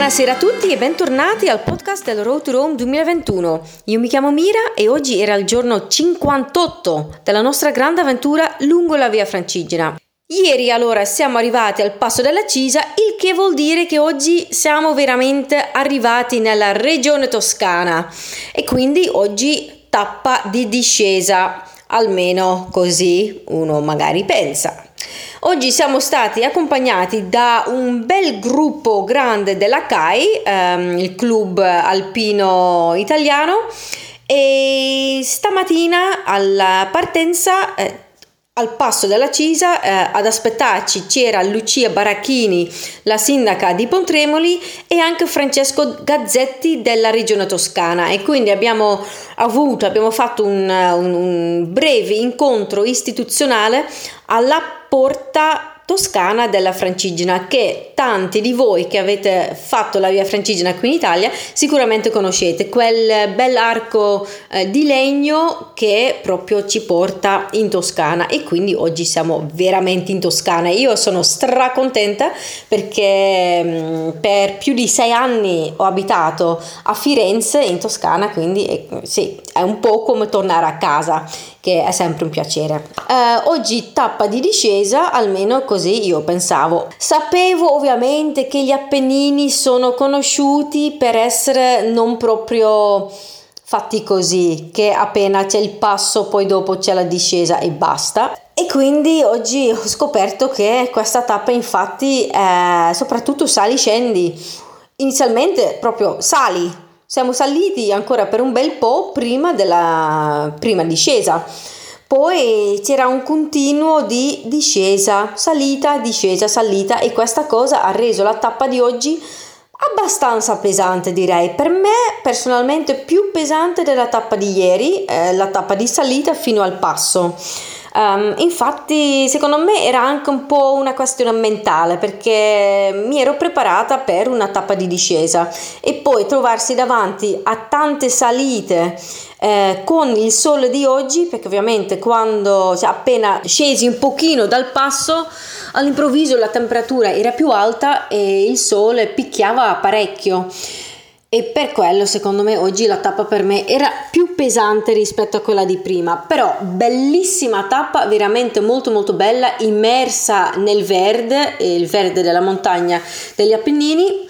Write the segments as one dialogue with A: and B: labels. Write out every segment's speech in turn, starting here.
A: Buonasera a tutti e bentornati al podcast del Road to Rome 2021. Io mi chiamo Mira e oggi era il giorno 58 della nostra grande avventura lungo la Via Francigena. Ieri allora siamo arrivati al Passo della Cisa, il che vuol dire che oggi siamo veramente arrivati nella regione toscana e quindi oggi tappa di discesa, almeno così uno magari pensa. Oggi siamo stati accompagnati da un bel gruppo grande della CAI, il club alpino italiano, e stamattina alla partenza al Passo della Cisa ad aspettarci c'era Lucia Baracchini, la sindaca di Pontremoli, e anche Francesco Gazzetti della regione toscana, e quindi abbiamo fatto un breve incontro istituzionale alla porta toscana della Francigena, che tanti di voi che avete fatto la Via Francigena qui in Italia sicuramente conoscete, quel bell'arco di legno che proprio ci porta in Toscana, e quindi oggi siamo veramente in Toscana. Io sono stracontenta perché per più di 6 anni ho abitato a Firenze in Toscana, quindi sì, è un po' come tornare a casa, che è sempre un piacere. Oggi tappa di discesa, almeno così io pensavo. Sapevo ovviamente che gli Appennini sono conosciuti per essere non proprio fatti così, che appena c'è il passo poi dopo c'è la discesa e basta. E quindi oggi ho scoperto che questa tappa infatti è soprattutto sali-scendi. Inizialmente proprio sali. Siamo saliti ancora per un bel po' prima della prima discesa, poi c'era un continuo di discesa, salita, salita, e questa cosa ha reso la tappa di oggi abbastanza pesante, direi. Per me personalmente più pesante della tappa di ieri, la tappa di salita fino al passo. Infatti secondo me era anche un po' una questione mentale, perché mi ero preparata per una tappa di discesa e poi trovarsi davanti a tante salite con il sole di oggi, perché ovviamente quando appena scesi un pochino dal passo all'improvviso la temperatura era più alta e il sole picchiava parecchio. E per quello secondo me oggi la tappa per me era più pesante rispetto a quella di prima, però bellissima tappa, veramente molto molto bella, immersa nel verde, il verde della montagna degli Appennini.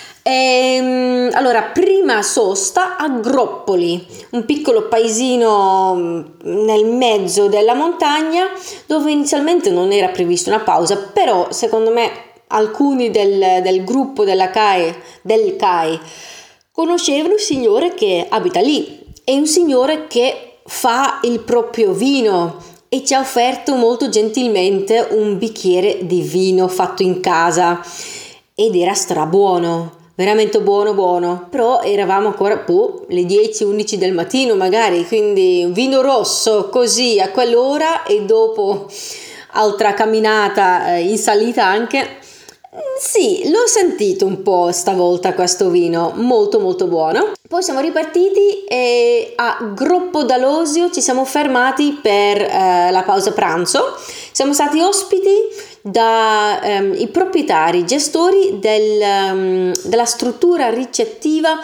A: Allora, prima sosta a Groppoli, un piccolo paesino nel mezzo della montagna, dove inizialmente non era prevista una pausa, però secondo me alcuni del gruppo del CAI conoscevano un signore che abita lì, è un signore che fa il proprio vino e ci ha offerto molto gentilmente un bicchiere di vino fatto in casa ed era strabuono, veramente buono, però eravamo ancora le 10-11 del mattino magari, quindi un vino rosso così a quell'ora e dopo altra camminata in salita anche. Sì, l'ho sentito un po' stavolta questo vino, molto molto buono. Poi siamo ripartiti e a Groppo d'Alosio ci siamo fermati per la pausa pranzo. Siamo stati ospiti dai proprietari, gestori della struttura ricettiva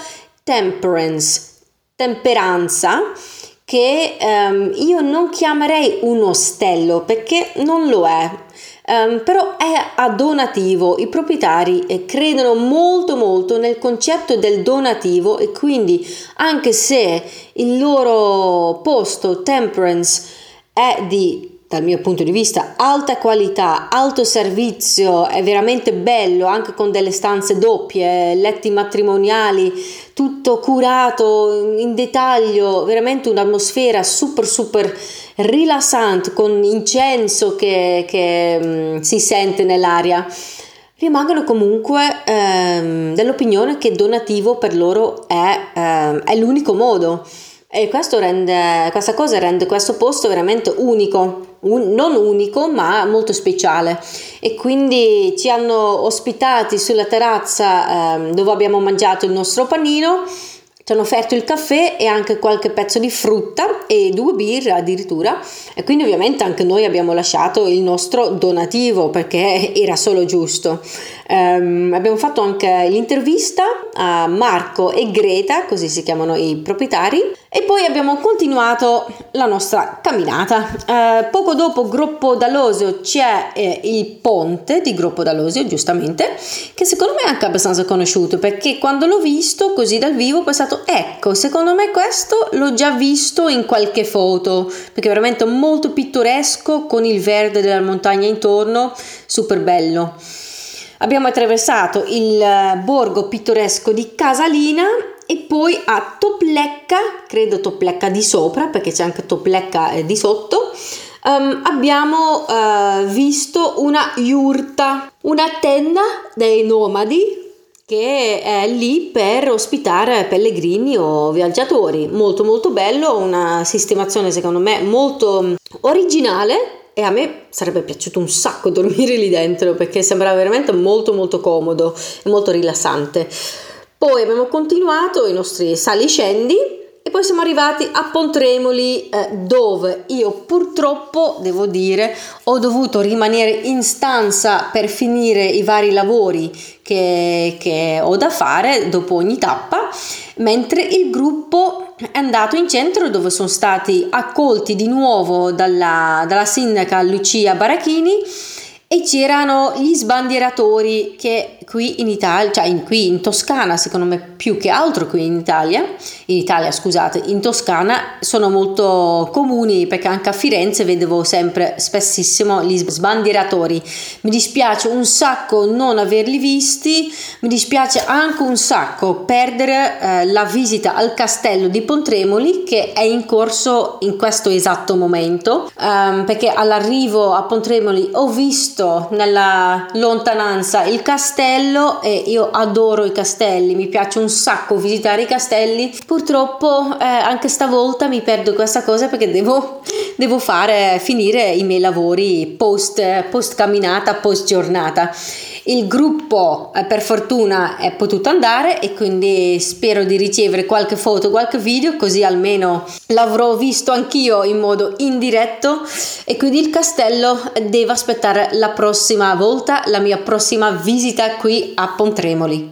A: Temperanza, che io non chiamerei un ostello perché non lo è. Però è a donativo. I proprietari credono molto molto nel concetto del donativo, e quindi anche se il loro posto Temperance è dal mio punto di vista alta qualità, alto servizio, è veramente bello, anche con delle stanze doppie, letti matrimoniali, tutto curato in dettaglio, veramente un'atmosfera super rilassante, con incenso che si sente nell'aria. Rimangono comunque dell'opinione che donativo per loro è l'unico modo, e questa cosa rende questo posto veramente unico, non unico ma molto speciale. E quindi ci hanno ospitati sulla terrazza dove abbiamo mangiato il nostro panino, ci hanno offerto il caffè e anche qualche pezzo di frutta e 2 birre addirittura, e quindi ovviamente anche noi abbiamo lasciato il nostro donativo perché era solo giusto. Abbiamo fatto anche l'intervista a Marco e Greta, così si chiamano i proprietari, e poi abbiamo continuato la nostra camminata. Poco dopo Gruppo Dalosio c'è il ponte di Gruppo Dalosio, giustamente, che secondo me è anche abbastanza conosciuto, perché quando l'ho visto così dal vivo ho pensato, ecco, secondo me questo l'ho già visto in qualche foto, perché è veramente molto pittoresco, con il verde della montagna intorno, super bello. Abbiamo attraversato il borgo pittoresco di Casalina e poi a Toplecca, credo Toplecca di sopra, perché c'è anche Toplecca di sotto, abbiamo visto una yurta, una tenda dei nomadi che è lì per ospitare pellegrini o viaggiatori. Molto molto bello, una sistemazione secondo me molto originale. E a me sarebbe piaciuto un sacco dormire lì dentro, perché sembrava veramente molto molto comodo e molto rilassante. Poi abbiamo continuato i nostri sali-scendi e poi siamo arrivati a Pontremoli, dove io purtroppo, devo dire, ho dovuto rimanere in stanza per finire i vari lavori che ho da fare dopo ogni tappa, mentre il gruppo è andato in centro, dove sono stati accolti di nuovo dalla sindaca Lucia Barachini, e c'erano gli sbandieratori che qui in Italia, qui in Toscana, secondo me più che altro qui in Italia, in Toscana sono molto comuni, perché anche a Firenze vedevo sempre spessissimo gli sbandieratori. Mi dispiace un sacco non averli visti, mi dispiace anche un sacco perdere la visita al castello di Pontremoli, che è in corso in questo esatto momento, perché all'arrivo a Pontremoli ho visto nella lontananza il castello, e io adoro i castelli, mi piace un sacco visitare i castelli. Purtroppo anche stavolta mi perdo questa cosa, perché devo finire i miei lavori post camminata, post giornata. Il gruppo per fortuna è potuto andare, e quindi spero di ricevere qualche foto, qualche video, così almeno l'avrò visto anch'io in modo indiretto. E quindi il castello deve aspettare la prossima volta, la mia prossima visita qui a Pontremoli.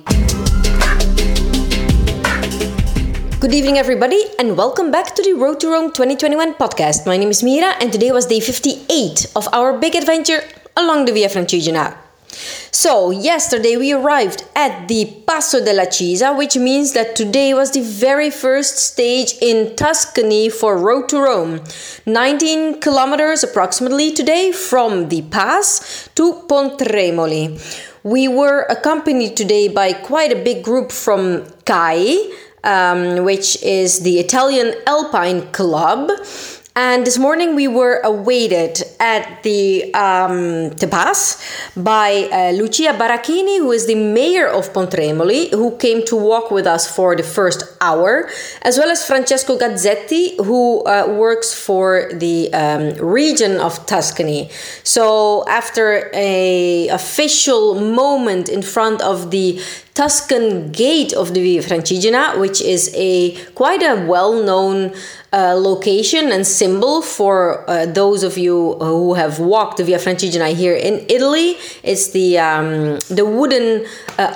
A: Good evening everybody, and welcome back to the Road to Rome 2021 podcast. My name is Mira, and today was day 58 of our big adventure along the Via Francigena. So, yesterday we arrived at the Passo della Cisa, which means that today was the very first stage in Tuscany for Road to Rome. 19 kilometers approximately today from the pass to Pontremoli. We were accompanied today by quite a big group from CAI, which is the Italian Alpine Club. And this morning we were awaited at the pass by Lucia Barachini, who is the mayor of Pontremoli, who came to walk with us for the first hour, as well as Francesco Gazzetti, who works for the region of Tuscany. So after an official moment in front of the Tuscan Gate of the Via Francigena, which is quite a well-known location and symbol for those of you who have walked the Via Francigena here in Italy. It's the wooden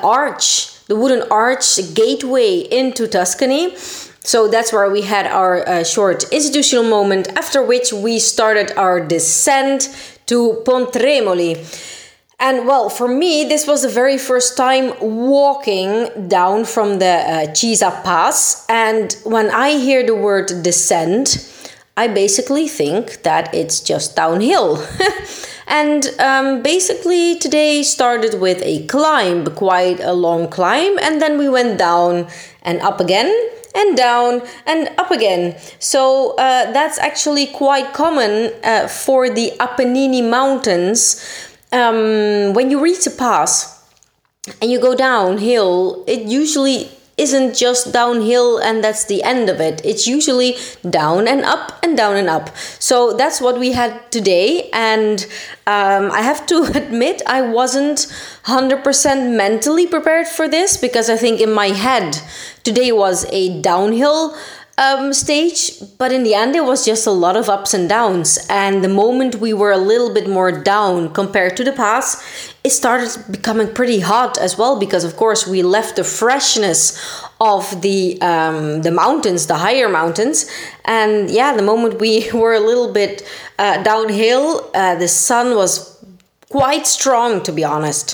A: arch gateway into Tuscany. So that's where we had our short institutional moment, after which we started our descent to Pontremoli. And well, for me, this was the very first time walking down from the Cisa Pass. And when I hear the word descent, I basically think that it's just downhill. And basically today started with a climb, quite a long climb. And then we went down and up again, and down and up again. So that's actually quite common for the Apennine Mountains. When you reach a pass and you go downhill, it usually isn't just downhill and that's the end of it. It's usually down and up and down and up. So that's what we had today. And I have to admit, I wasn't 100% mentally prepared for this, because I think in my head today was a downhill stage, but in the end it was just a lot of ups and downs. And the moment we were a little bit more down compared to the pass, it started becoming pretty hot as well, because of course we left the freshness of the mountains, the higher mountains. And yeah, the moment we were a little bit downhill, the sun was quite strong, to be honest.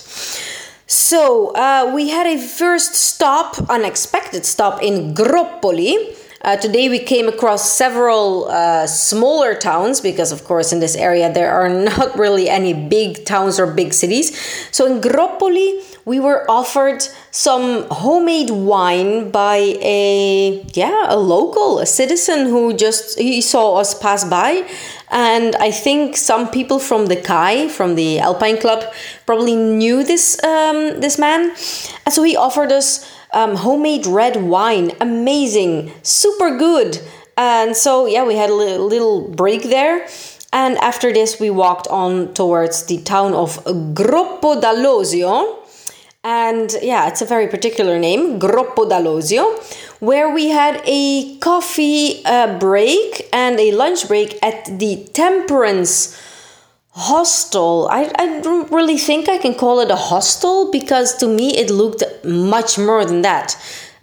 A: So we had a first stop, unexpected stop in Groppoli. Today we came across several smaller towns, because of course in this area there are not really any big towns or big cities. So in Groppoli we were offered some homemade wine by a local, a citizen who he saw us pass by. And I think some people from the CAI, from the Alpine Club, probably knew this man. And so he offered us homemade red wine. Amazing, super good. And so yeah, we had a little break there. And after this we walked on towards the town of Groppo d'Allosio. And yeah, it's a very particular name, Groppo d'Allosio, where we had a coffee break and a lunch break at the Temperance Hostel. I don't really think I can call it a hostel, because to me it looked much more than that.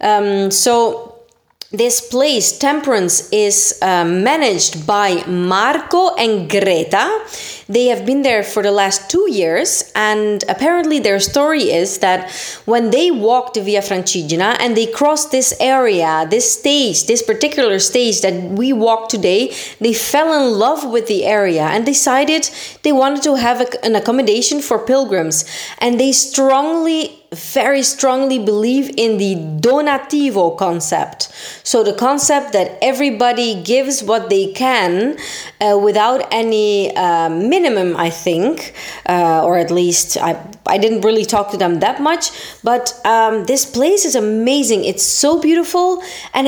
A: So this place, Temperance, is managed by Marco and Greta. They have been there for the last 2 years, and apparently their story is that when they walked the Via Francigena and they crossed this area, this stage, this particular stage that we walked today, they fell in love with the area and decided they wanted to have an accommodation for pilgrims. And they very strongly believe in the donativo concept. So the concept that everybody gives what they can without any minimum, I think, or at least I didn't really talk to them that much, but this place is amazing. It's so beautiful, and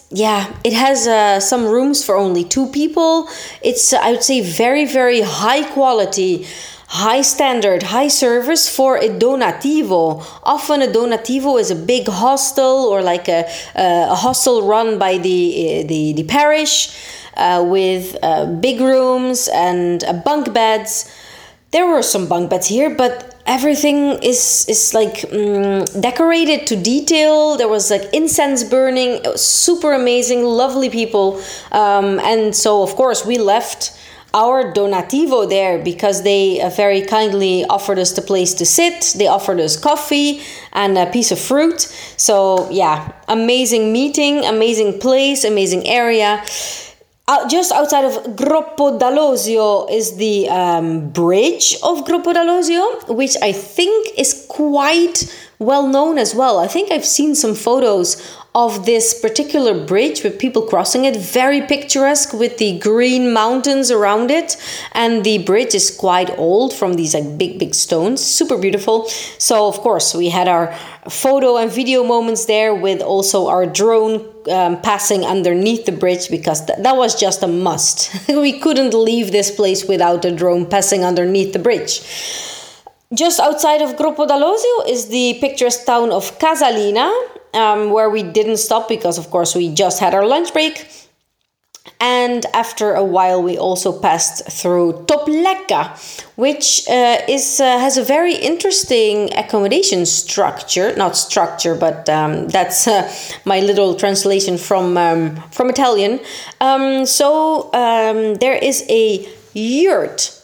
A: it has some rooms for only 2 people. It's, I would say, very, very high quality, high standard, high service for a donativo. Often a donativo is a big hostel, or like a hostel run by the parish, with big rooms and bunk beds. There were some bunk beds here, but everything is like decorated to detail. There was like incense burning. It was super amazing, lovely people. And so of course we left our donativo there, because they very kindly offered us the place to sit. They offered us coffee and a piece of fruit. So yeah, amazing meeting, amazing place, amazing area. Just outside of Groppo d'Allosio is the bridge of Groppo d'Allosio, which I think is quite well known as well. I think I've seen some photos of this particular bridge with people crossing it. Very picturesque with the green mountains around it. And the bridge is quite old, from these like big stones. Super beautiful. So of course we had our photo and video moments there, with also our drone passing underneath the bridge, because that was just a must. We couldn't leave this place without a drone passing underneath the bridge. Just outside of Groppo d'Allosio is the picturesque town of Casalina, where we didn't stop because, of course, we just had our lunch break. And after a while, we also passed through Toplecca, which has a very interesting accommodation structure. Not structure, but that's my little translation from Italian. So there is a yurt,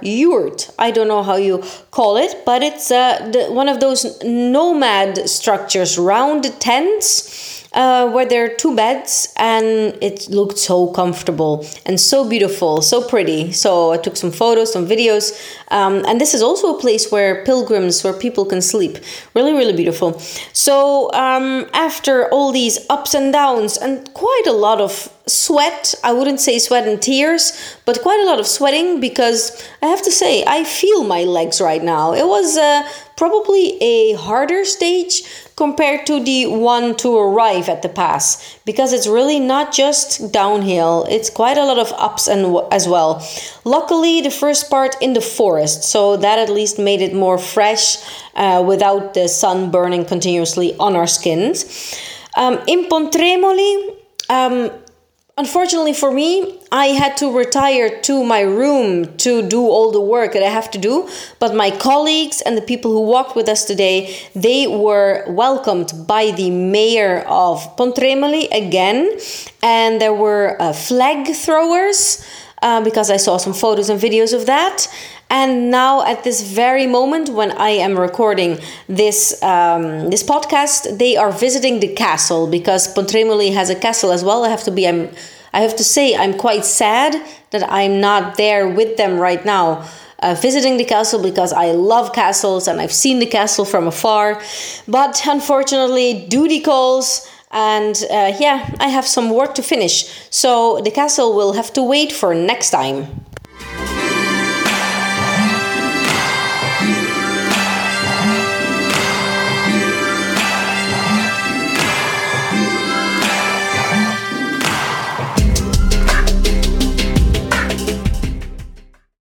A: I don't know how you call it, but it's one of those nomad structures, round tents, where there are 2 beds, and it looked so comfortable and so beautiful, so pretty. So I took some photos, some videos, and this is also a place where people can sleep. Really, really beautiful. So after all these ups and downs and quite a lot of sweat, I wouldn't say sweat and tears, but quite a lot of sweating, because I have to say I feel my legs right now. It was probably a harder stage compared to the one to arrive at the pass, because it's really not just downhill, it's quite a lot of ups and as well. Luckily the first part in the forest, so that at least made it more fresh, without the sun burning continuously on our skins. In Pontremoli Unfortunately for me, I had to retire to my room to do all the work that I have to do. But my colleagues and the people who walked with us today, they were welcomed by the mayor of Pontremoli again. And there were flag throwers, because I saw some photos and videos of that. And now at this very moment when I am recording this podcast, they are visiting the castle, because Pontremoli has a castle as well. I have to say I'm quite sad that I'm not there with them right now, visiting the castle, because I love castles and I've seen the castle from afar. But unfortunately, duty calls. And I have some work to finish. So the castle will have to wait for next time.